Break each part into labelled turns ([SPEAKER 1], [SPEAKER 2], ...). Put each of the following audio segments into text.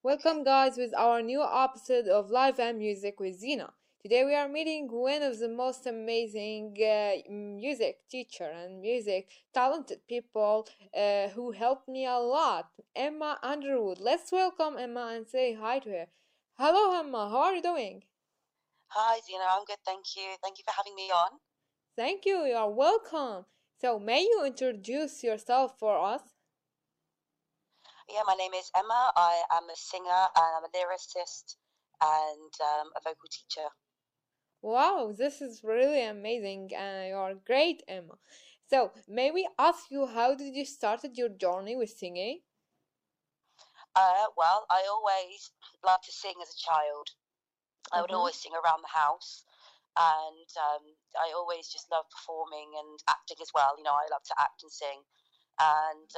[SPEAKER 1] Welcome, guys, with our new episode of Live and Music with Zina. Today, we are meeting one of the most amazing music teacher and music talented people who helped me a lot, Emma Underwood. Let's welcome Emma and say hi to her. Hello, Emma. How are you doing?
[SPEAKER 2] Hi, Zena. I'm good, thank you. Thank you for having me on.
[SPEAKER 1] Thank you. You are welcome. So, may you introduce yourself for us?
[SPEAKER 2] Yeah, my name is Emma. I am a singer and I'm a lyricist and a vocal teacher.
[SPEAKER 1] Wow, this is really amazing and you're great, Emma. So, may we ask you how did you started your journey with singing?
[SPEAKER 2] Well, I always loved to sing as a child. I would
[SPEAKER 1] Uh-huh.
[SPEAKER 2] always sing around the house, and I always just loved performing and acting as well. I love to act and sing. And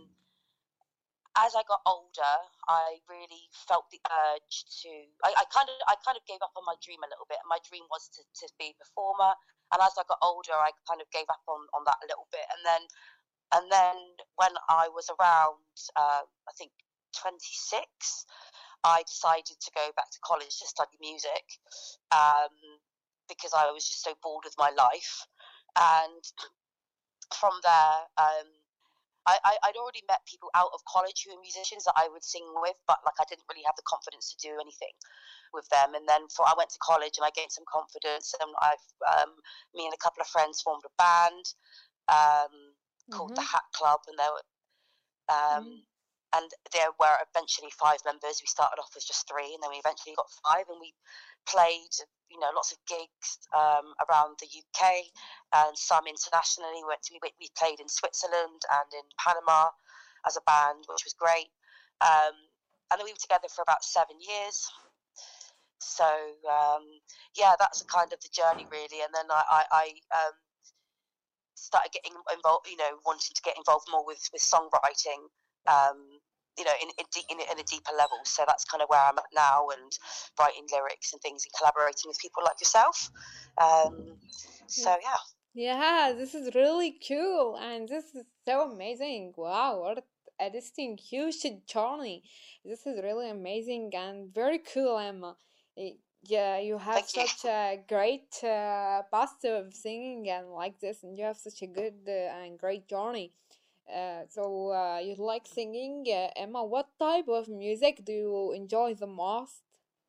[SPEAKER 2] as I got older, I really felt the urge to. I kind of gave up on my dream a little bit. My dream was to be a performer, and as I got older, I kind of gave up on that a little bit. And then when I was around, I think 26, I decided to go back to college to study music, um, because I was just so bored with my life. And from there, I'd already met people out of college who were musicians that I would sing with, but like I didn't really have the confidence to do anything with them. And then I went to college and I gained some confidence, and me and a couple of friends formed a band um, called the
[SPEAKER 1] Mm-hmm.
[SPEAKER 2] Hat Club, um, and there were eventually five members. We started off as just three, and then we eventually got five, and we played, lots of gigs around the UK and some internationally. We played in Switzerland and in Panama as a band, which was great. Um, and then we were together for about 7 years. So yeah, that's kind of the journey really. And then I started getting involved, wanting to get involved more with songwriting, in a deeper level. So that's kind of where I'm at now, and writing lyrics and things and collaborating with people like yourself. Um, so yeah.
[SPEAKER 1] Yeah, this is really cool and this is so amazing. Wow, what a distinct, huge journey. This is really amazing and very cool, Emma. Yeah, you have
[SPEAKER 2] Thank you.
[SPEAKER 1] such a great past of singing and like this, and you have such a good and great journey. So you like singing, Emma? What type of music do you enjoy the most?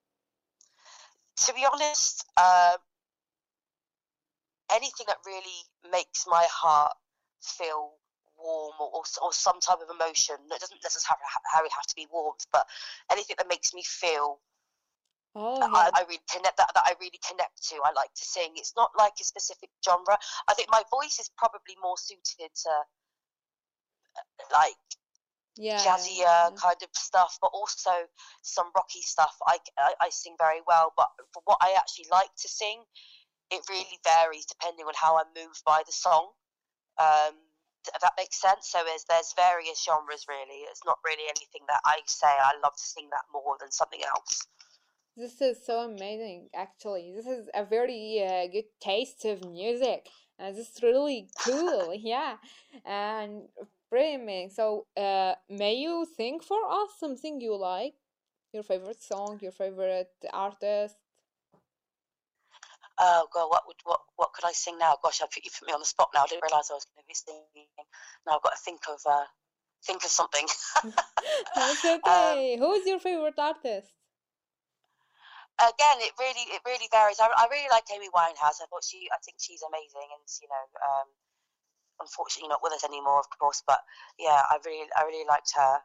[SPEAKER 2] To be honest, anything that really makes my heart feel warm, or some type of emotion. It doesn't necessarily have to be warmth, but anything that makes me feel
[SPEAKER 1] Oh,
[SPEAKER 2] that
[SPEAKER 1] yeah.
[SPEAKER 2] I really connect that I really connect to. I like to sing. It's not like a specific genre. I think my voice is probably more suited to like
[SPEAKER 1] Yeah,
[SPEAKER 2] jazzier
[SPEAKER 1] yeah.
[SPEAKER 2] kind of stuff, but also some rocky stuff. I sing very well, but for what I actually like to sing, it really varies depending on how I'm moved by the song. Um, if that makes sense. So there's various genres really. It's not really anything that I say I love to sing that more than something else.
[SPEAKER 1] This is so amazing, actually. This is a very good taste of music, and this is really cool. Yeah, and pretty amazing. So, may you think for us something you like? Your favorite song, your favorite artist?
[SPEAKER 2] Oh God, what could I sing now? Gosh, you put me on the spot now. I didn't realise I was going to be singing. Now I've got to think of something.
[SPEAKER 1] It's
[SPEAKER 2] um,
[SPEAKER 1] okay. Who's your favorite artist?
[SPEAKER 2] Again, it really varies. I really like Amy Winehouse. I think she's amazing, and unfortunately not with us anymore, of course. But yeah, I really liked her.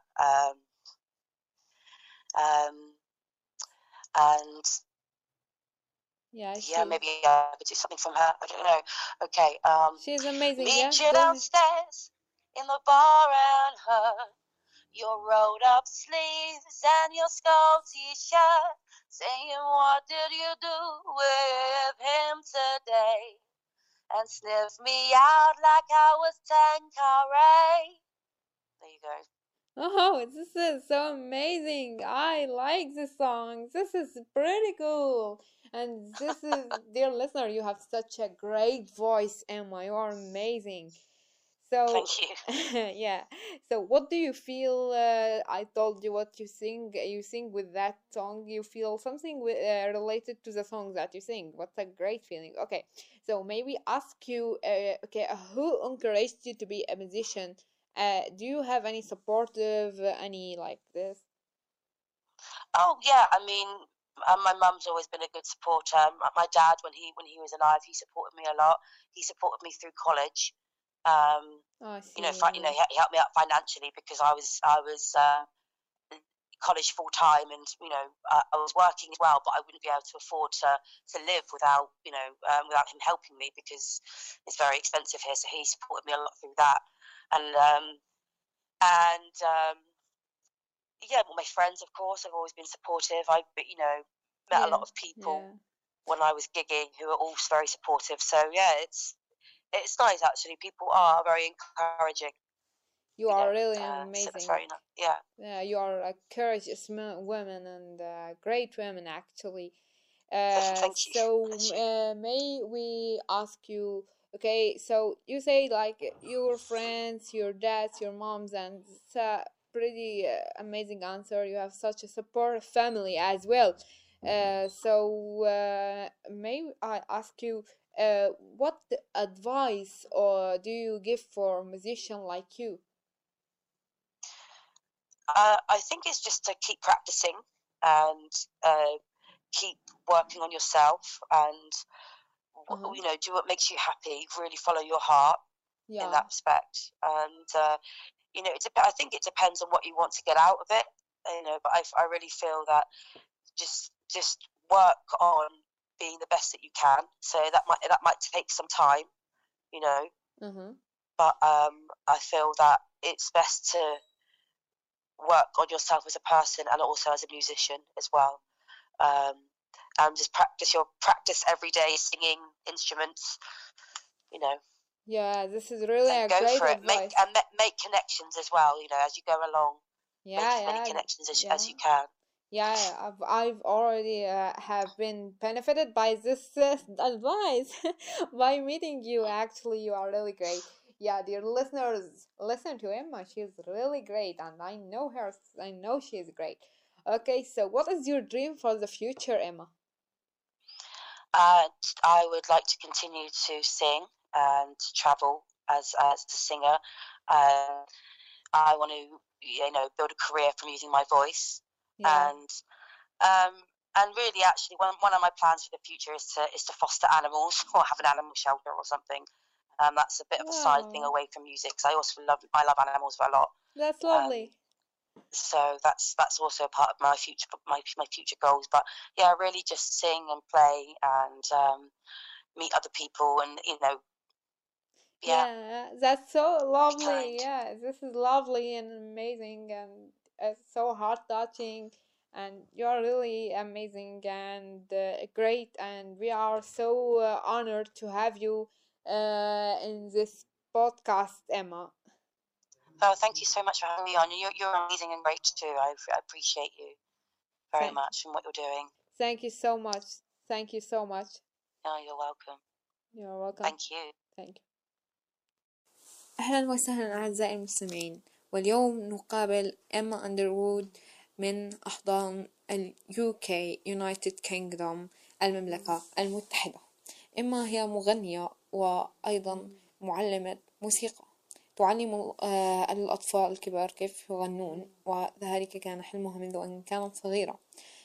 [SPEAKER 2] Um, and
[SPEAKER 1] Yeah,
[SPEAKER 2] yeah,
[SPEAKER 1] she
[SPEAKER 2] maybe I could do something from her. I don't know. Okay.
[SPEAKER 1] she's amazing. Yeah,
[SPEAKER 2] Meet you
[SPEAKER 1] go ahead.
[SPEAKER 2] downstairs in the bar and her. Your rolled up sleeves and your skull t-shirt, saying what did you do with him today? And sniff me out like I was Tanqueray. There you go.
[SPEAKER 1] Oh, this is so amazing. I like this song. This is pretty cool. And this is, dear listener, you have such a great voice, Emma. You are amazing. So,
[SPEAKER 2] Thank you.
[SPEAKER 1] yeah. So, what do you feel? I told you what you sing. You sing with that song. You feel something related to the song that you sing. What's a great feeling. Okay. So, maybe ask you. Okay, who encouraged you to be a musician? Do you have any supportive, any like this?
[SPEAKER 2] Oh yeah, I mean, my mum's always been a good supporter. My dad, when he was alive, he supported me a lot. He supported me through college. Um,
[SPEAKER 1] Oh, I
[SPEAKER 2] you know,
[SPEAKER 1] see. Yeah.
[SPEAKER 2] he helped me out financially because I was college full time, and I was working as well, but I wouldn't be able to afford to live without without him helping me because it's very expensive here. So he supported me a lot through that, and and yeah, well, my friends, of course, have always been supportive. I, met a
[SPEAKER 1] Yeah.
[SPEAKER 2] lot of people
[SPEAKER 1] Yeah.
[SPEAKER 2] when I was gigging who are also very supportive. So yeah, it's nice actually. People are very encouraging,
[SPEAKER 1] You are really
[SPEAKER 2] so that's
[SPEAKER 1] amazing.
[SPEAKER 2] very nice. Yeah.
[SPEAKER 1] Yeah, you are a courageous woman and great women, actually.
[SPEAKER 2] Thank you. Bless you.
[SPEAKER 1] May we ask you, okay, so you say like your friends, your dads, your moms, and it's a pretty amazing answer. You have such a support family as well. May I ask you, what advice or do you give for a musician like you?
[SPEAKER 2] I think it's just to keep practicing and uh, keep working on yourself and
[SPEAKER 1] Uh-huh.
[SPEAKER 2] do what makes you happy. Really follow your heart in
[SPEAKER 1] Yeah.
[SPEAKER 2] that respect. And I think it depends on what you want to get out of it. But I really feel that just work on being the best that you can. So that might take some time, you know.
[SPEAKER 1] Uh-huh.
[SPEAKER 2] But I feel that it's best to work on yourself as a person and also as a musician as well. Um, and just practice every day singing instruments, you know,
[SPEAKER 1] Yeah, this is really
[SPEAKER 2] and
[SPEAKER 1] a
[SPEAKER 2] go
[SPEAKER 1] great
[SPEAKER 2] for it.
[SPEAKER 1] advice.
[SPEAKER 2] Make connections as well, as you go along. Make
[SPEAKER 1] Yeah,
[SPEAKER 2] as many
[SPEAKER 1] yeah,
[SPEAKER 2] connections as
[SPEAKER 1] yeah.
[SPEAKER 2] you can.
[SPEAKER 1] Yeah, I've already have been benefited by this advice by meeting you.
[SPEAKER 2] Mm.
[SPEAKER 1] Actually, you are really great. Yeah, dear listeners, listen to Emma. She's really great, and I know her. I know she's great. Okay, so what is your dream for the future, Emma?
[SPEAKER 2] And I would like to continue to sing and travel as a singer. Um, I want to, build a career from using my voice,
[SPEAKER 1] Yeah.
[SPEAKER 2] and um, and really, actually, one of my plans for the future is to foster animals or have an animal shelter or something. That's a bit of a side thing
[SPEAKER 1] Wow,
[SPEAKER 2] away from music because I love animals a lot.
[SPEAKER 1] that's
[SPEAKER 2] Um,
[SPEAKER 1] lovely.
[SPEAKER 2] so that's also a part of my future goals. But yeah, really just sing and play and meet other people and yeah,
[SPEAKER 1] Yeah, that's so
[SPEAKER 2] be
[SPEAKER 1] lovely.
[SPEAKER 2] kind.
[SPEAKER 1] Yeah, this is lovely and amazing and so heart touching. And you're really amazing and great. And we are so honored to have you in this podcast, Emma.
[SPEAKER 2] Oh, thank you so much for having me on. You're amazing and great too. I appreciate you very
[SPEAKER 1] Thank,
[SPEAKER 2] much and what you're doing.
[SPEAKER 1] thank you so much. Thank you so much.
[SPEAKER 2] Oh, you're welcome.
[SPEAKER 1] You're welcome.
[SPEAKER 2] Thank you.
[SPEAKER 1] Thank you. أهلا وسهلا أعزائي المستمعين، واليوم نقابل إما أندروود من أحضان ال UK United Kingdom المملكة المتحدة. إما هي مغنية وأيضا معلمة موسيقى، تعلم الأطفال الكبار كيف يغنون، وذلك كان حلمها منذ أن كانت صغيرة.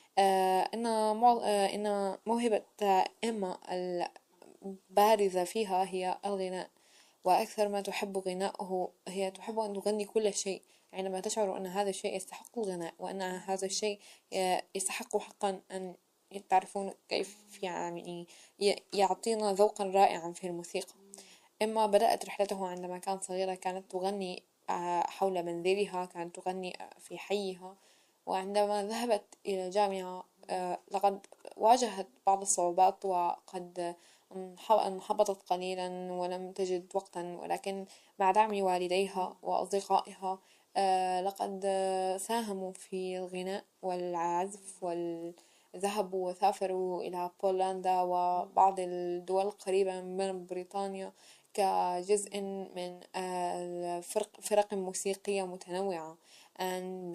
[SPEAKER 1] إن موهبة إما البارزة فيها هي الغناء، وأكثر ما تحب غناءه هي تحب أن تغني كل شيء عندما تشعر أن هذا الشيء يستحق الغناء وأن هذا الشيء يستحق حقا أن تعرفون كيف يعني يعطينا ذوقا رائعا في الموسيقى. إما بدأت رحلته عندما كانت صغيرة، كانت تغني حول منزلها، كانت تغني في حيها، وعندما ذهبت إلى الجامعة لقد واجهت بعض الصعوبات وقد انحبطت قليلا ولم تجد وقتا، ولكن مع دعم والديها وأصدقائها لقد ساهموا في الغناء والعزف ذهبوا وسافروا إلى بولندا وبعض الدول القريبة من بريطانيا كجزء من فرق موسيقية متنوعة and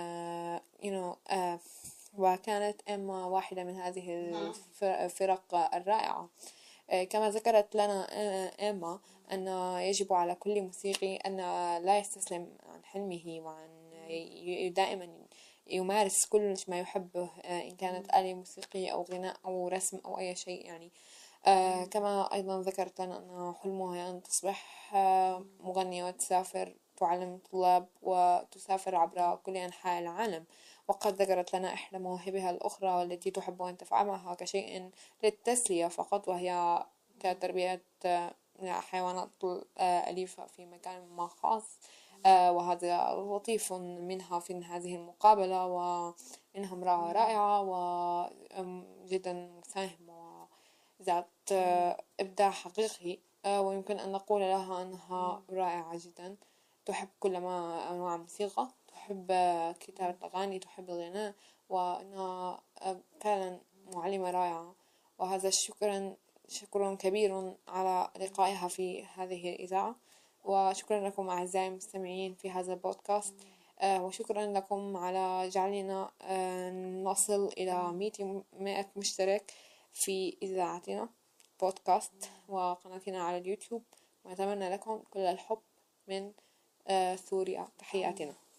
[SPEAKER 1] وكانت إما واحدة من هذه الفرق الرائعة. كما ذكرت لنا إما أن يجب على كل موسيقي أن لا يستسلم عن حلمه وأن دائما يمارس كل ما يحبه، إن كانت آلة موسيقية أو غناء أو رسم أو أي شيء يعني. كما أيضا ذكرت لنا أن حلمها أن تصبح مغنية وتسافر تعلم الطلاب وتسافر عبر كل أنحاء العالم. وقد ذكرت لنا إحدى مواهبها الأخرى والتي تحب أن تفعلها كشيء للتسلية فقط، وهي كتربية حيوانات أليفة في مكان ما خاص. وهذا لطيف منها في هذه المقابلة، وإنها امرأة رائعة وجدا مساهمة وذات إبداع حقيقي، ويمكن أن نقول لها أنها رائعة جدا، تحب كل ما أنواع الموسيقى، تحب كتابة الأغاني، تحب الغناء، وأنها فعلا معلمة رائعة. وهذا شكر كبير على لقائها في هذه الإذاعة، وشكرا لكم أعزائي المستمعين في هذا البودكاست، وشكرا لكم على جعلنا نصل إلى 100 مشترك في إذاعتنا بودكاست وقناتنا على اليوتيوب، وأتمنى لكم كل الحب من سوريا. تحياتنا.